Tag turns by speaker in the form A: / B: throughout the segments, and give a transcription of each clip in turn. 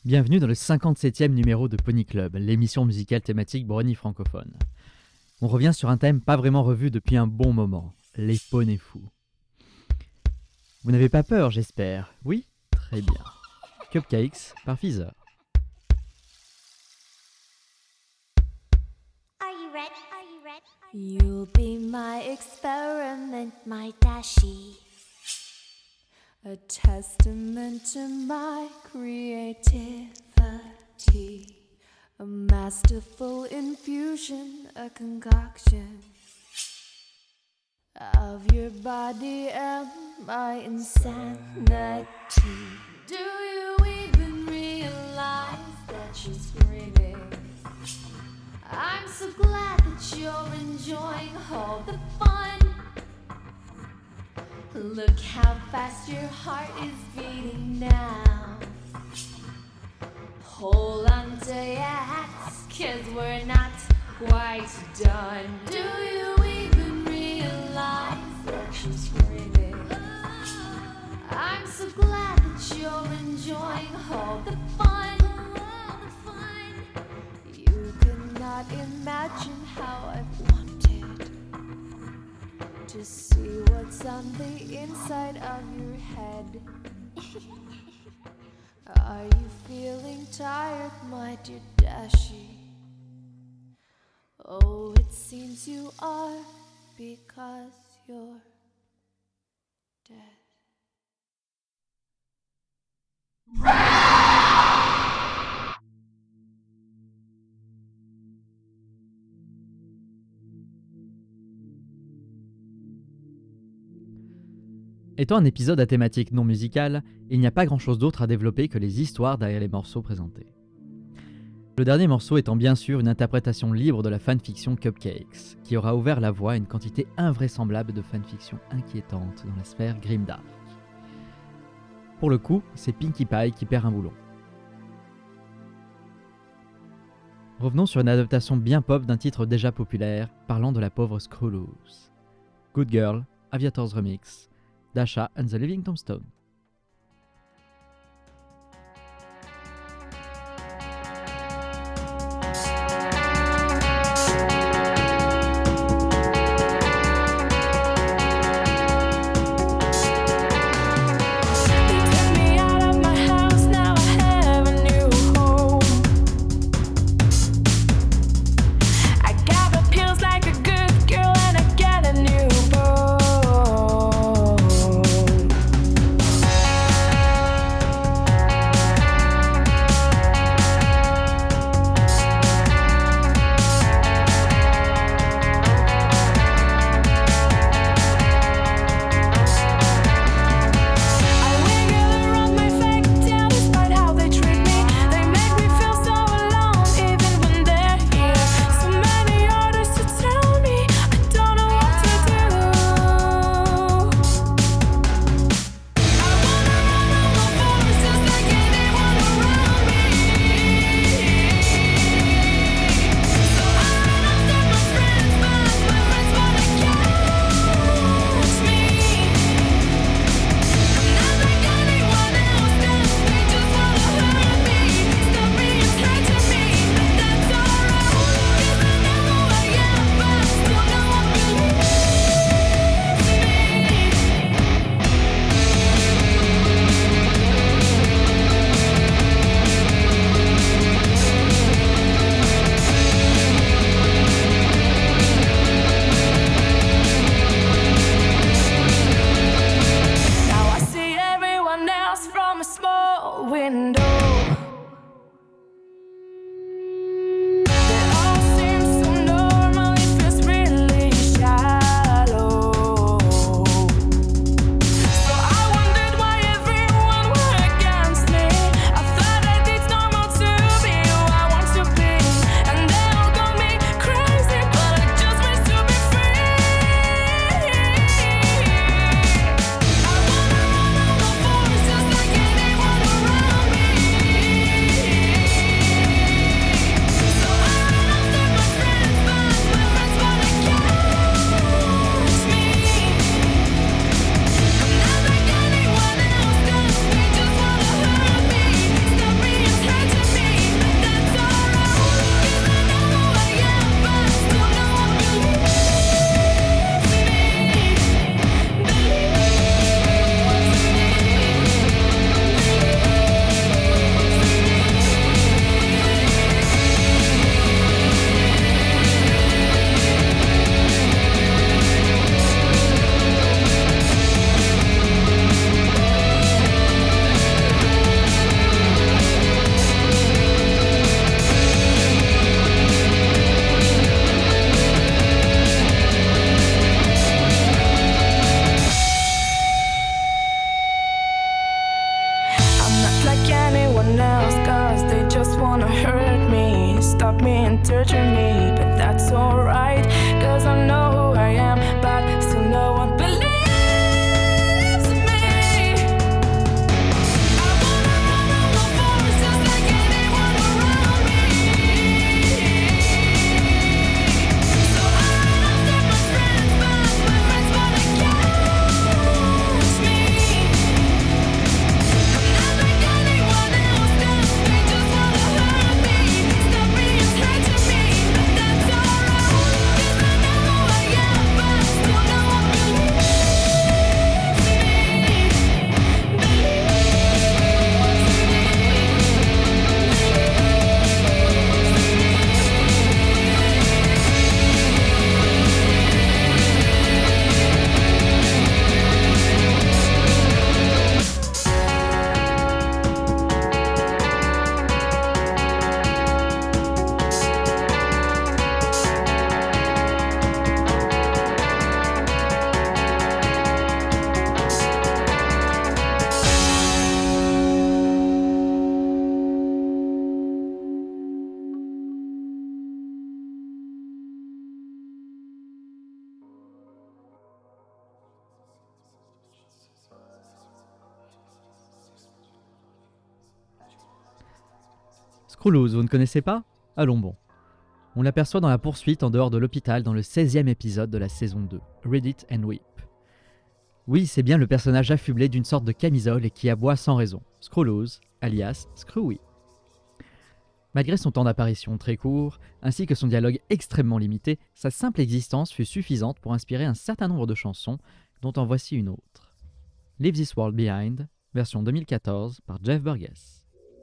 A: Bienvenue dans le 57e numéro de Pony Club, l'émission musicale thématique Brony francophone. On revient sur un thème pas vraiment revu depuis un bon moment, les poneys fous. Vous n'avez pas peur, j'espère? Oui? Très bien. Cupcakes par Feather.
B: You'll be my experiment, my dashi. A testament to my creativity. A masterful infusion, a concoction of your body and my insanity. Do you even realize that you're screaming? I'm so glad that you're enjoying all the fun. Look how fast your heart is beating now. Hold on to your hats, 'cause we're not quite done. Do you even realize that you're screaming? I'm so glad that you're enjoying all the fun. You could not imagine how I've wanted to see what's on the inside of your head. Are you feeling tired, my dear Dashi? Oh, it seems you are, because you're dead.
A: Étant un épisode à thématique non musicale, il n'y a pas grand-chose d'autre à développer que les histoires derrière les morceaux présentés. Le dernier morceau étant bien sûr une interprétation libre de la fanfiction Cupcakes, qui aura ouvert la voie à une quantité invraisemblable de fanfiction inquiétante dans la sphère grimdark. Pour le coup, c'est Pinkie Pie qui perd un boulon. Revenons sur une adaptation bien pop d'un titre déjà populaire, parlant de la pauvre Screwloose. Good Girl, Aviator's Remix, Dasha and the Living Tombstone. Screwloose, vous ne connaissez pas? Allons bon. On l'aperçoit dans la poursuite en dehors de l'hôpital dans le 16e épisode de la saison 2, Read It and Weep. Oui, c'est bien le personnage affublé d'une sorte de camisole et qui aboie sans raison, Screwloose, alias Screwy. Malgré son temps d'apparition très court, ainsi que son dialogue extrêmement limité, sa simple existence fut suffisante pour inspirer un certain nombre de chansons, dont en voici une autre. Leave This World Behind, version 2014 par Jeff Burgess.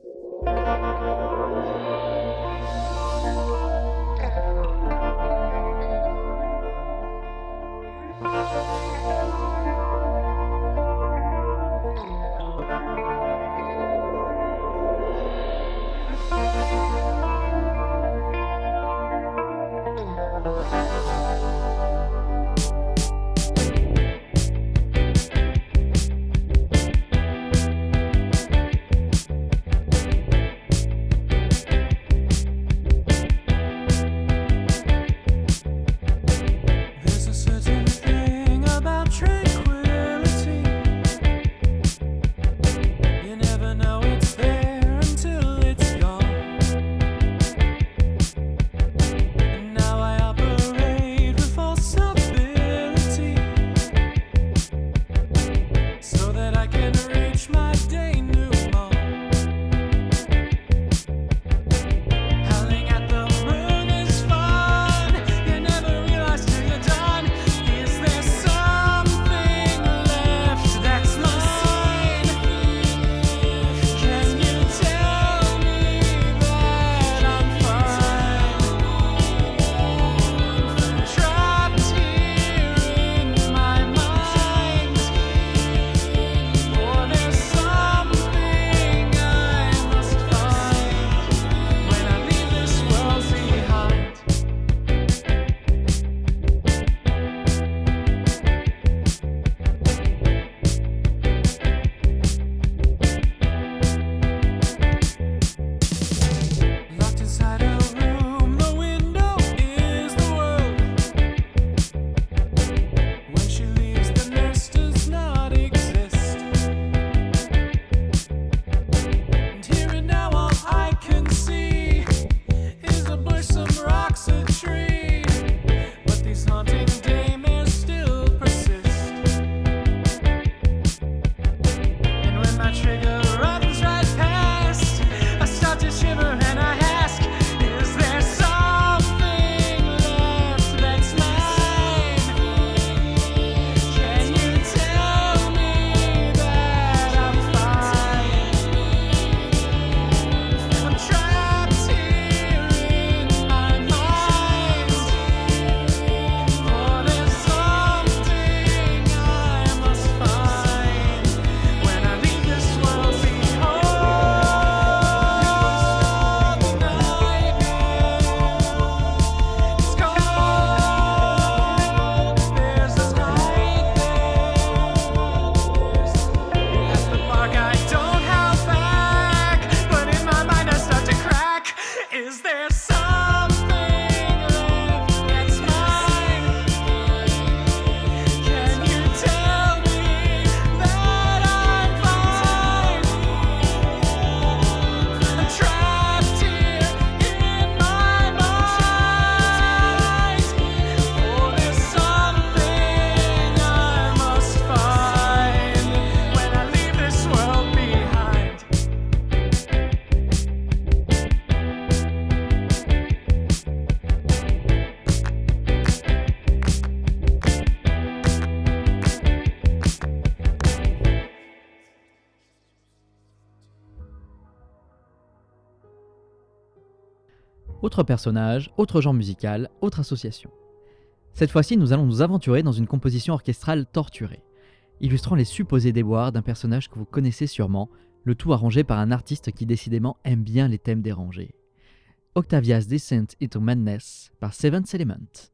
A: Autre personnage, autre genre musical, autre association. Cette fois-ci, nous allons nous aventurer dans une composition orchestrale torturée, illustrant les supposés déboires d'un personnage que vous connaissez sûrement, le tout arrangé par un artiste qui décidément aime bien les thèmes dérangés. Octavia's Descent into Madness par Seventh Element.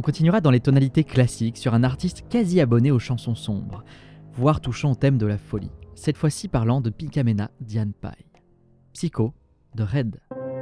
A: On continuera dans les tonalités classiques sur un artiste quasi abonné aux chansons sombres, voire touchant au thème de la folie, cette fois-ci parlant de Pinkamena Diane Pai. Psycho de Red.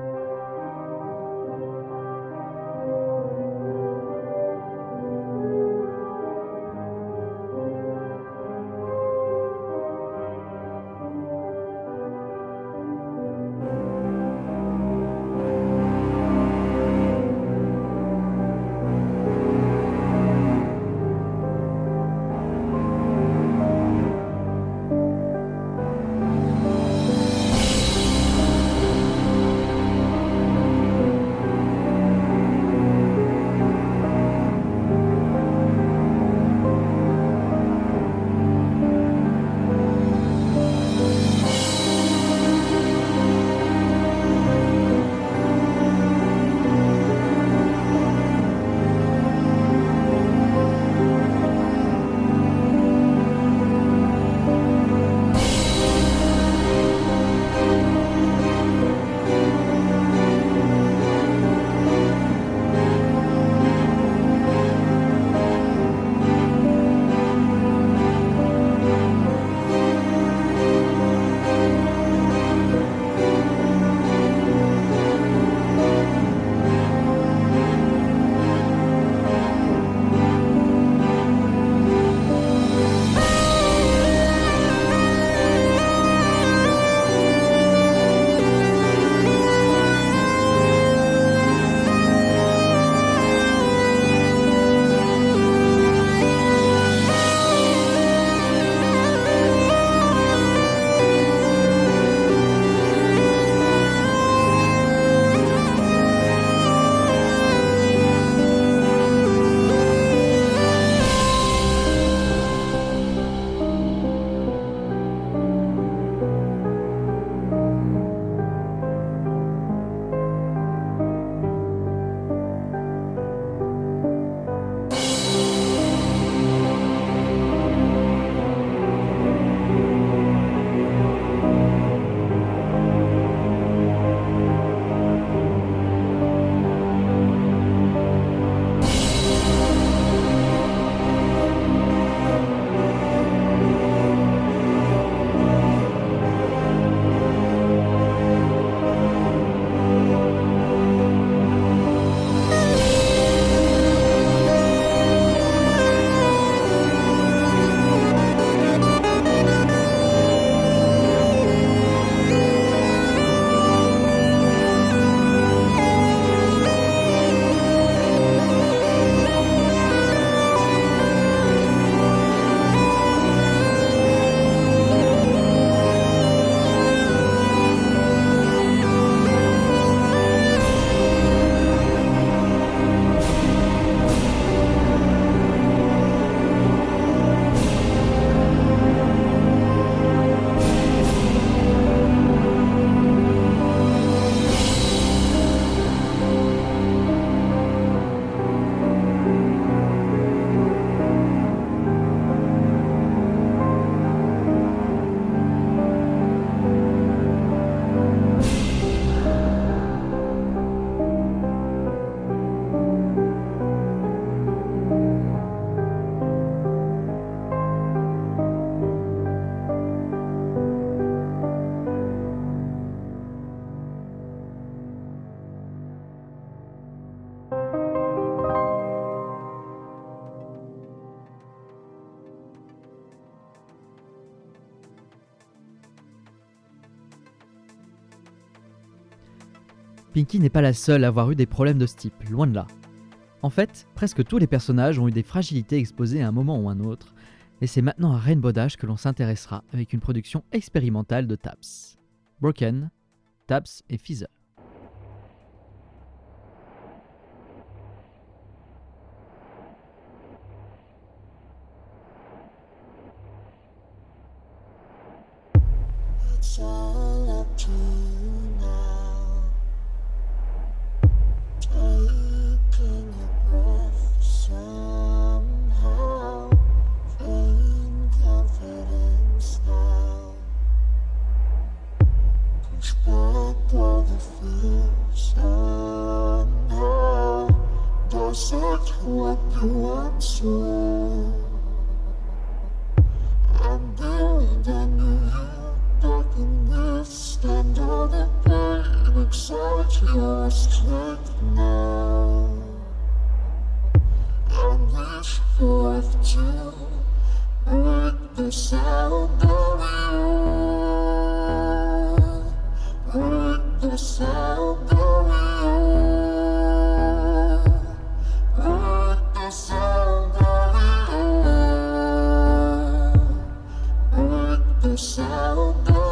A: Pinky n'est pas la seule à avoir eu des problèmes de ce type, loin de là. En fait, presque tous les personnages ont eu des fragilités exposées à un moment ou un autre, et c'est maintenant à Rainbow Dash que l'on s'intéressera avec une production expérimentale de Taps. Broken, Taps et Feather.
B: It's all up to you now. Taking your breath somehow. Vain confidence now. Push back all the fear somehow.
C: wasn't what you once were. I'm buried and you back in this, and all the pain exalt your strength now. And reach forth to break the sound of you, break the sound of you, break the sound of you, break the sound of you.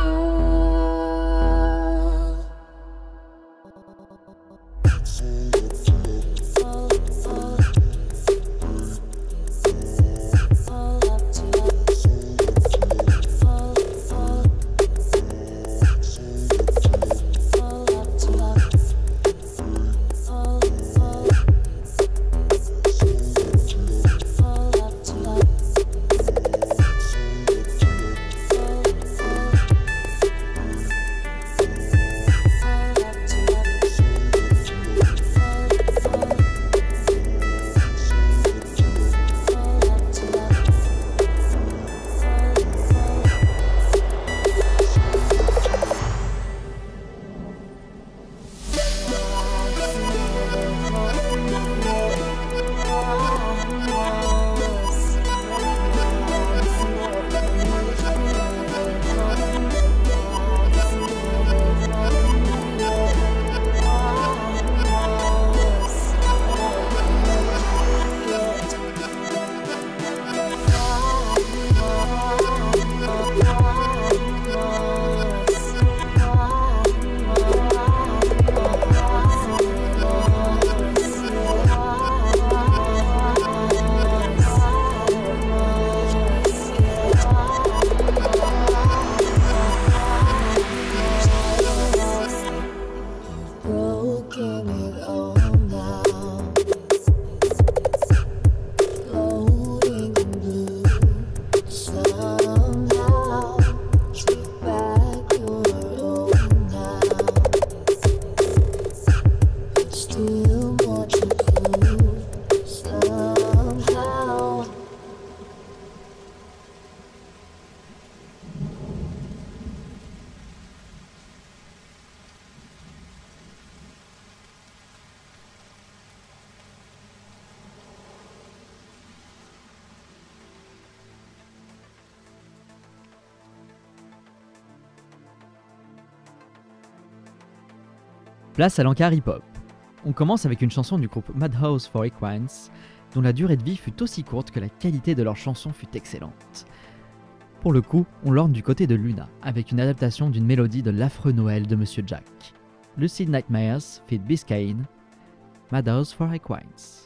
A: Place à l'encart hip-hop. On commence avec une chanson du groupe Madhouse for Equines, dont la durée de vie fut aussi courte que la qualité de leur chanson fut excellente. Pour le coup, on l'orne du côté de Luna, avec une adaptation d'une mélodie de l'affreux Noël de Monsieur Jack. Lucid Nightmares feat. Biscayne, Madhouse for Equines.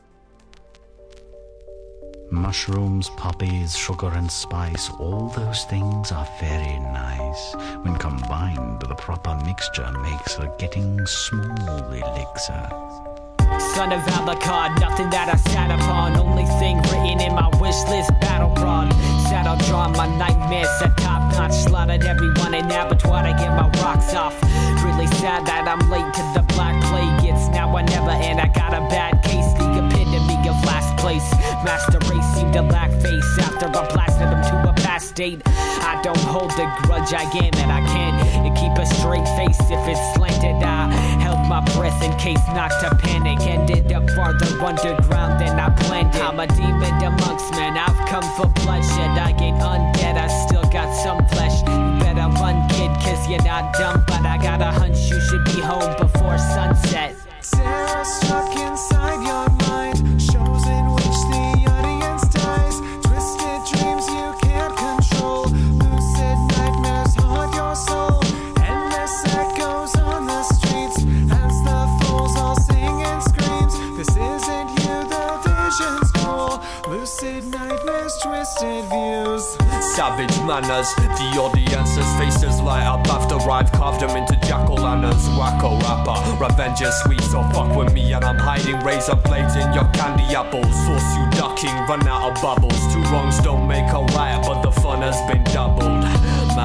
D: Mushrooms, poppies, sugar and spice, all those things are very nice. When combined, the proper mixture makes a getting small elixir.
E: Son of Alucard, nothing that I sat upon. Only thing written in my wish list, battle prawn. Saddle drawn, my nightmares set top notch. Slaughtered everyone in abattoir to get my rocks off. Really sad that I'm late to the black plague. It's now or never, and I got a bad case. The epitome of last place. Master race seemed to lack face after I blasted him to a past state. I don't hold a grudge, I get that I can't keep a straight face if it's slanted. I held my breath in case not to panic. Ended up farther underground than I planned it. I'm a demon amongst men, I've come for bloodshed. I ain't undead, I still got some flesh. You better run, kid, cause you're not dumb. But I got a hunch you should be home before sunset.
F: Terror struck inside your mind, shows in which the audience dies. Twisted dreams you can't control, lucid nightmares haunt your soul. Endless echoes on the streets, as the fools all sing and screams. This isn't you, the vision's goal. Lucid nightmares, twisted views.
G: Savage manners, the audience's faces light up after I've carved them into jack-o'-lanterns. Wacko rapper, revenge is sweet, so fuck with me and I'm hiding razor blades in your candy apples. Force you ducking, run out of bubbles. Two wrongs don't make a right, but the fun has been doubled. Madhouse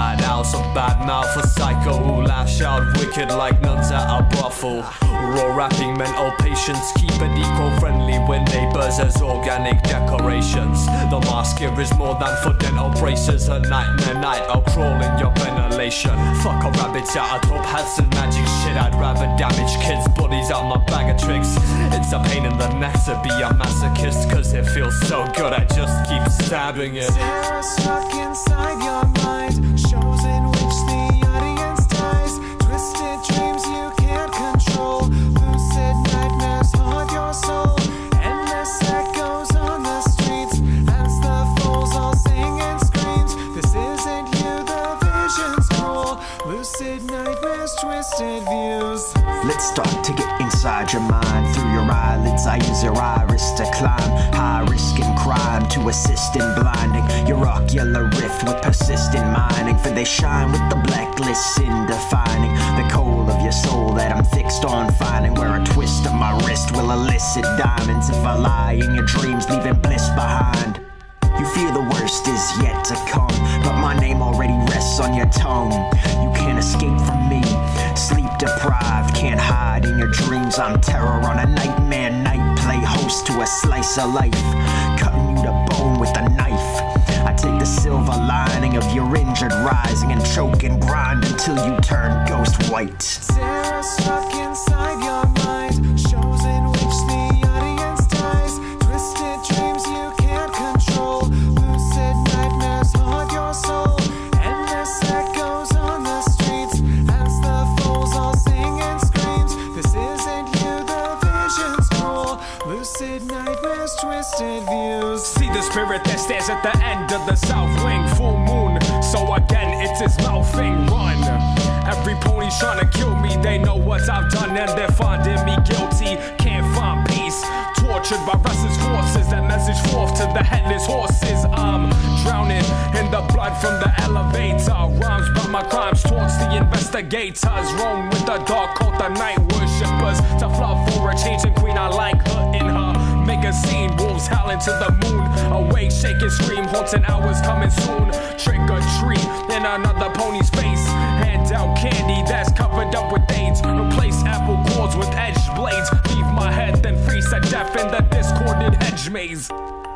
G: just a bad mouth, a psycho who lash out wicked like nuns at a brothel. Raw rapping mental patience, keep it eco-friendly with neighbours as organic decorations. The mask here is more than for dental braces. A night, I'll crawl in your ventilation. Fuck a rabbits out of top hats and magic shit. I'd rather damage kids' bodies out my bag of tricks. It's a pain in the neck to be a masochist, cause it feels so good I just keep stabbing it.
F: Terror struck inside your mind, shows in which the audience dies. Twisted dreams you can't control, lucid nightmares haunt your soul. Endless echoes on the streets as the fools all sing and screams. This isn't you, the vision's cruel. Lucid nightmares, twisted views.
H: Let's start to get inside your mind. Through your eyelids I use your iris to climb. High risk in crime to assist in blinding your ocular rift with persistent mining. For they shine with the blacklist in defining the coal of your soul that I'm fixed on finding. Where a twist of my wrist will elicit diamonds if I lie in your dreams, leaving bliss behind. You fear the worst is yet to come, but my name already rests on your tongue. You can't escape from me, sleep deprived, can't hide in your dreams. I'm terror on a nightmare night, play host to a slice of life, cutting you to bone with a knife. I take the silver lining of your injured rising and choke and grind until you turn ghost white.
F: Terror struck inside your mind, shows in which the audience dies. Twisted dreams you can't control, lucid nightmares haunt your soul. Endless echoes on the streets as the fools all sing and screams. This isn't you, the vision's cruel. Lucid nightmares, twisted views.
E: See the spirit that stands at the end of the south wing. Full moon, so again it's his mouthing. Run. Every pony's trying to kill me. They know what I've done and they're finding me guilty. Can't find peace. Tortured by restless forces that message forth to the headless horses. I'm drowning in the blood from the elevator. Rhymes about my crimes towards the investigators. Roam with the dark cult, the night worshippers. To flood for a changing queen, I like her in her. Make a scene, wolves howling to the moon. Awake, shake and scream, haunting hours coming soon. Trick or treat in another pony's face. Hand out candy that's covered up with AIDS. Replace apple cores with edged blades. Leave my head, then freeze to death in the discorded hedge maze.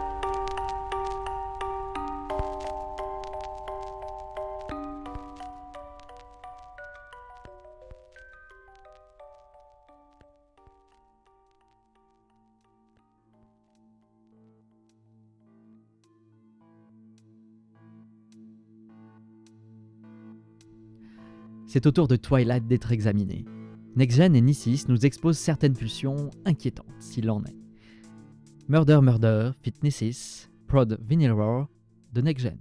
A: C'est au tour de Twilight d'être examiné. NextGen et Nissis nous exposent certaines pulsions inquiétantes, s'il en est. Murder Murder, Fit Nissis, Prod Vinyl Roar de NextGen.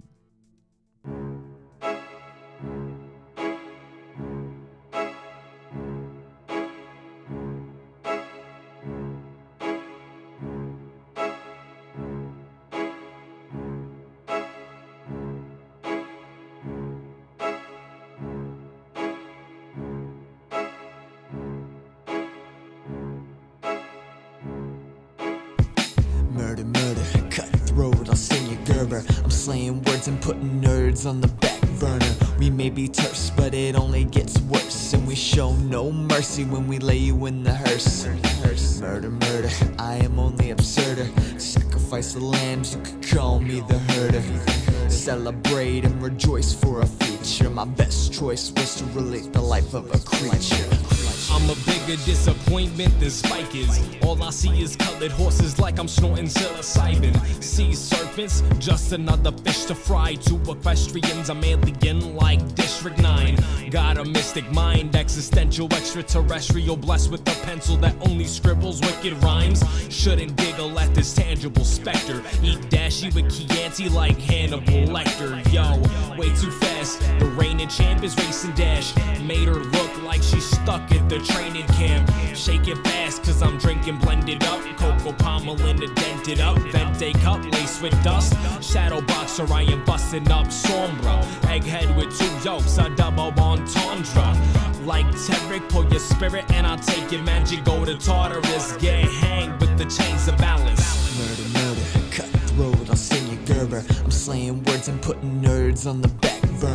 I: Murder, murder, cutthroat, I'll send you Gerber. I'm slaying words and putting nerds on the back burner. We may be terse, but it only gets worse. And we show no mercy when we lay you in the hearse. Murder, murder, I am only absurder. Sacrifice the lambs, you could call me the herder. Celebrate and rejoice for a future. My best choice was to relate the life of a creature.
E: I'm a bigger disappointment than Spike is. All I see is colored horses like I'm snorting psilocybin. Sea serpents, just another fish to fry. To equestrians, I'm alien like District 9. Got a mystic mind, existential, extraterrestrial, blessed with a pencil that only scribbles wicked rhymes. Shouldn't giggle at this tangible specter. Eat dashy with Chianti like Hannibal Lecter. Yo, way too fast, the reigning champ is racing dash. Made her look like she's stuck at the training camp. Shake it fast cause I'm drinking blended up. Cocoa Pommelina dented up. Vente cup laced with dust. Shadow boxer I am busting up Sombra. Egghead with two yolks, a double entendre. Like Tedrick, pull your spirit and I'll take your magic. Go to Tartarus, get hanged with the chains of balance.
I: Murder, murder, cutthroat, I'll send you Gerber. I'm slaying words and putting nerds on the back burner.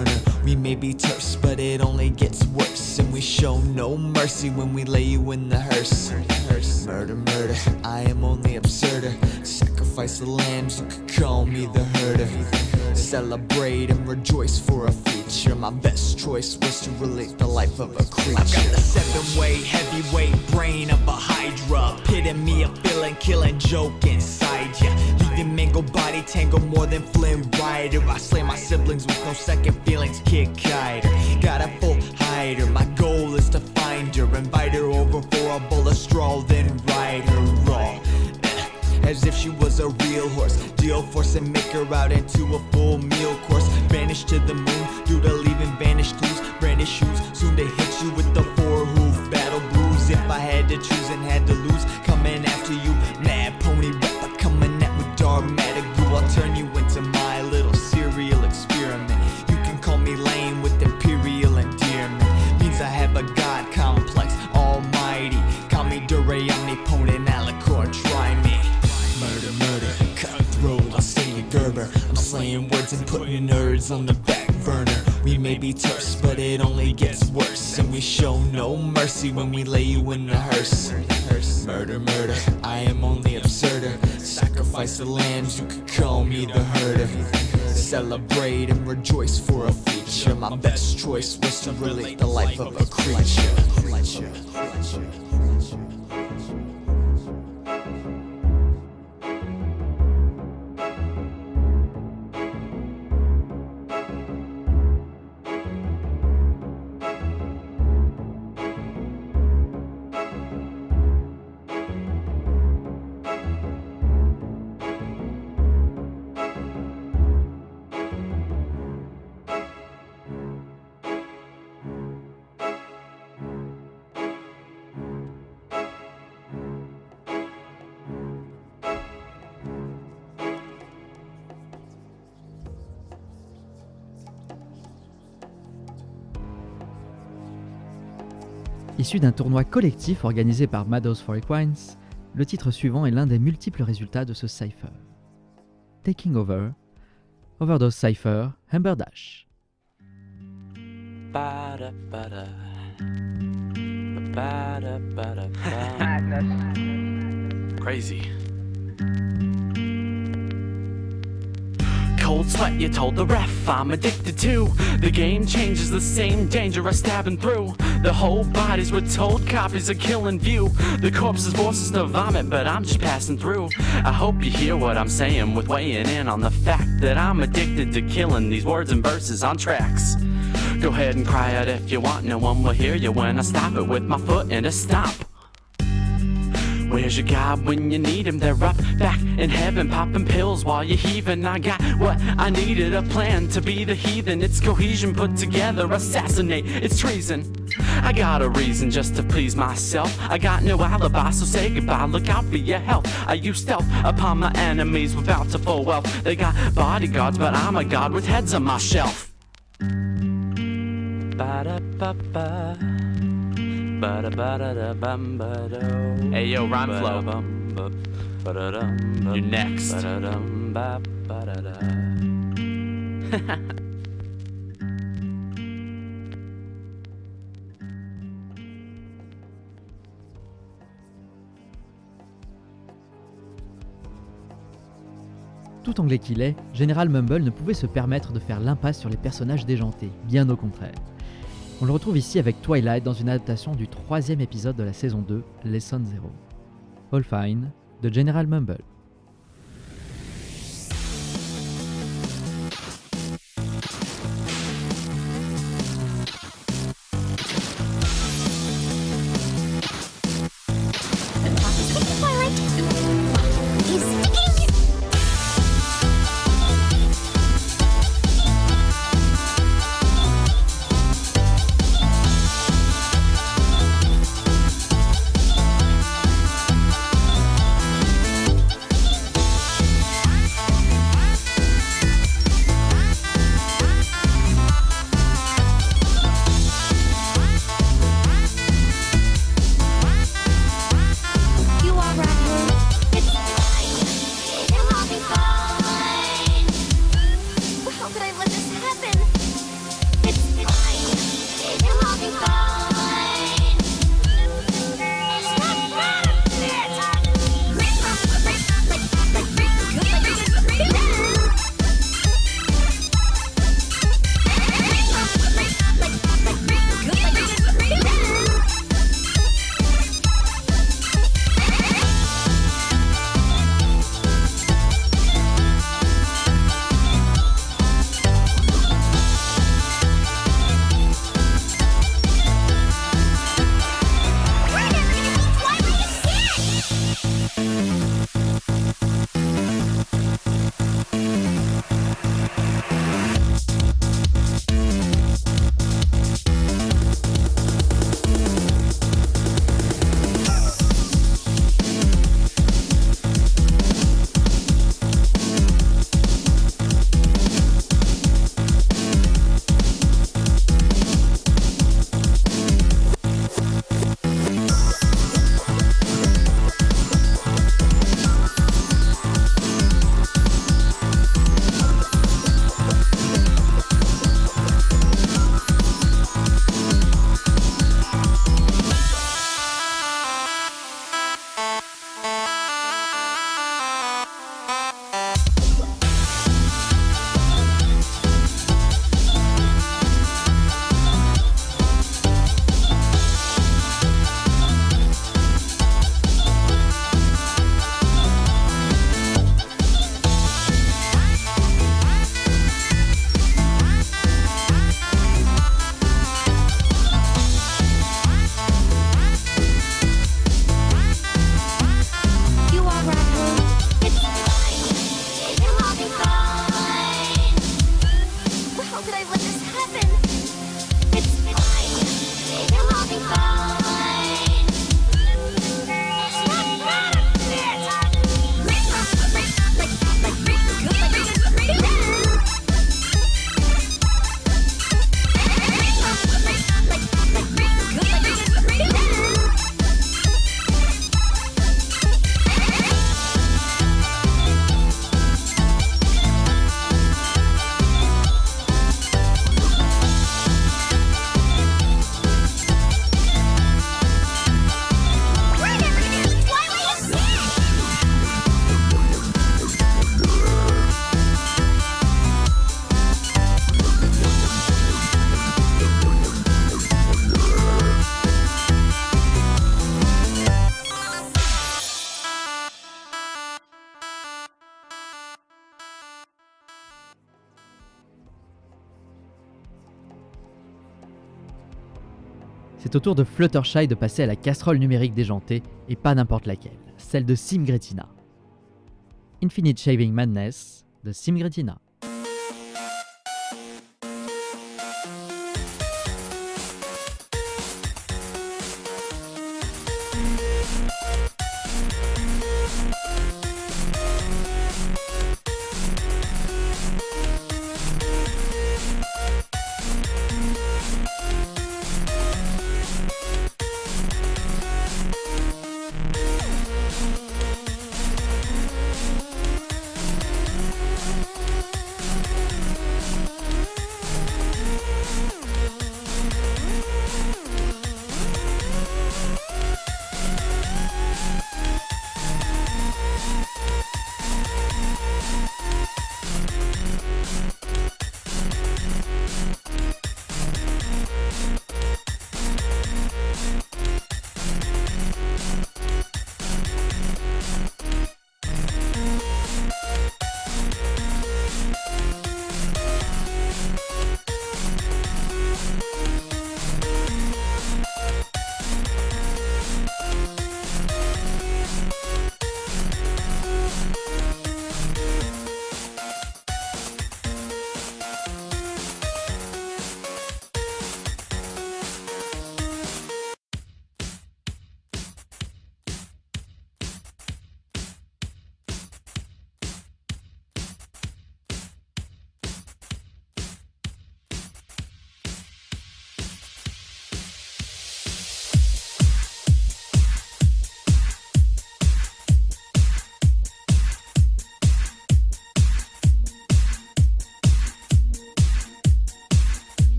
I: We may be terse, but it only gets worse. And we show no mercy when we lay you in the hearse. Murder, murder, I am only absurder. Sacrifice the lambs, you could call me the herder. Celebrate and rejoice for a feature. My best choice was to relate the life of a creature. I've got the 7-way heavyweight brain of a hydra. Pitting me a feeling, killing joke inside ya. Leaving mangled body tangle more than Flynn Rider. I slay my siblings with no second feelings, kick hider. Got a full hider, my goal is to find her. Invite her over for a bowl of straw, then ride her raw. As if she was a real horse. Deal force and make her out into a full meal course. Vanish to the moon due to leaving vanished clues. Brandish shoes soon to hit you with the 4-hoof battle blues. If I had to choose and had to lose, coming after you, mad pony rapper coming at with dogmatic glue. I'll turn you into my little serial experiment. You can call me lame with imperial endearment. Means I have a god complex, almighty. Call me Dure, omnipotent, alicorn, try me. Murder, murder, cutthroat, I'll say you Gerber. I'm slaying words and putting nerds on the back burner. We may be terse, but it only gets worse. And we show no mercy when we lay you in the hearse. Murder, murder, I am only absurder. Sacrifice the lambs, you could call me the herder. Celebrate and rejoice for a feature. My best choice was to relate the life of a creature.
A: Issu d'un tournoi collectif organisé par Mados for Equines, le titre suivant est l'un des multiples résultats de ce cypher. Taking Over, Overdose Cypher, Humberdash.
J: Crazy. Cold sweat, you told the ref I'm addicted to. The game changes the same dangerous stabbing through. The whole bodies were told copies are killing view. The corpses force us to vomit, but I'm just passing through. I hope you hear what I'm saying with weighing in on the fact that I'm addicted to killing these words and verses on tracks. Go ahead and cry out if you want, no one will hear you when I stop it with my foot in a stomp. Where's your God when you need him? They're up back in heaven, popping pills while you're heaving. I got what I needed, a plan to be the heathen. It's cohesion put together, assassinate, it's treason. I got a reason just to please myself. I got no alibi, so say goodbye, look out for your health. I use stealth upon my enemies with bountiful wealth. They got bodyguards, but I'm a god with heads on my shelf. Ba-da-ba-ba. Hey yo, rhyme flow. You're next.
A: Tout anglais qu'il est, General Mumble ne pouvait se permettre de faire l'impasse sur les personnages déjantés, bien au contraire. On le retrouve ici avec Twilight dans une adaptation du 3e épisode de la saison 2, Lesson 0. All Fine, de General Mumble. c'est au tour de Fluttershy de passer à la casserole numérique déjantée, et pas n'importe laquelle, celle de Sim Gretina. Infinite Shaving Madness de Sim Gretina.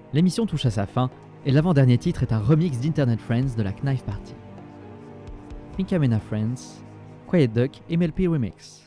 A: L'émission touche à sa fin, et l'avant-dernier titre est un remix d'Internet Friends de la Knife Party. Pinkamena Friends, Quiet Duck et MLP Remix.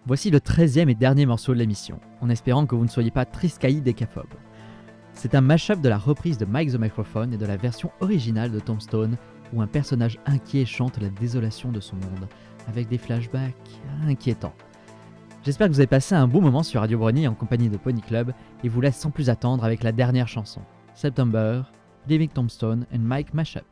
A: Voici le 13e et dernier morceau de l'émission, en espérant que vous ne soyez pas triscaillis décaphobes. C'est un mash-up de la reprise de Mike the Microphone et de la version originale de Tombstone, où un personnage inquiet chante la désolation de son monde, avec des flashbacks inquiétants. J'espère que vous avez passé un bon moment sur Radio Brony en compagnie de Pony Club, et vous laisse sans plus attendre avec la dernière chanson, September, Leaving Tombstone and Mike Mashup.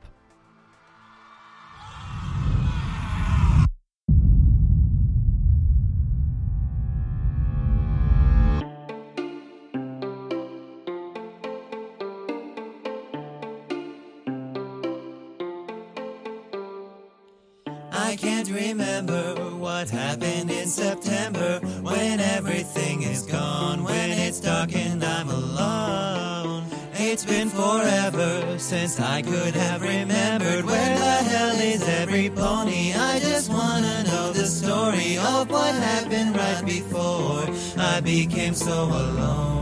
K: I can't remember what happened in September, when everything is gone, when it's dark and I'm alone. It's been forever since I could have remembered where the hell is every pony. I just wanna know the story of what happened right before I became so alone.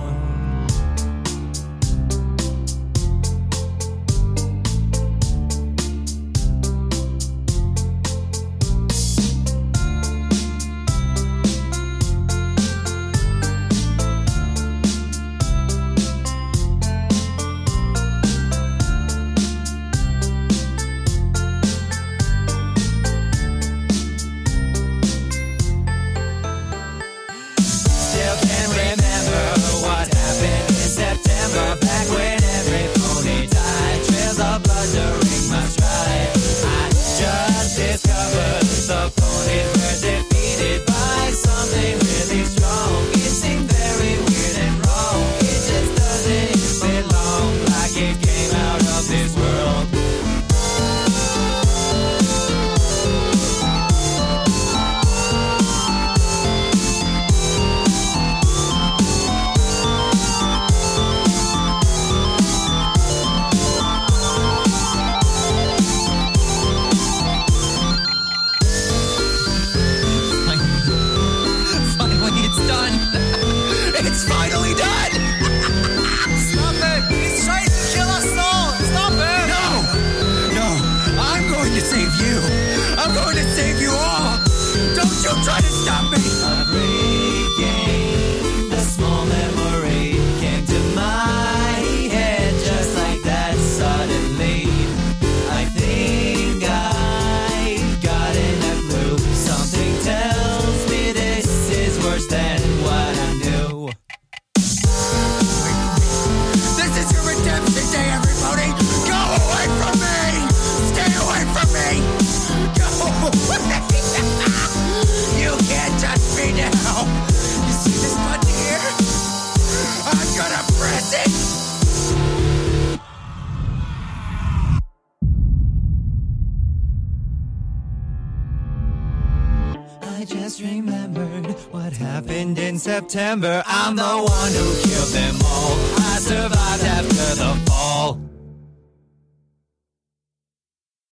K: September, I'm the one who killed them all. I survived after the fall.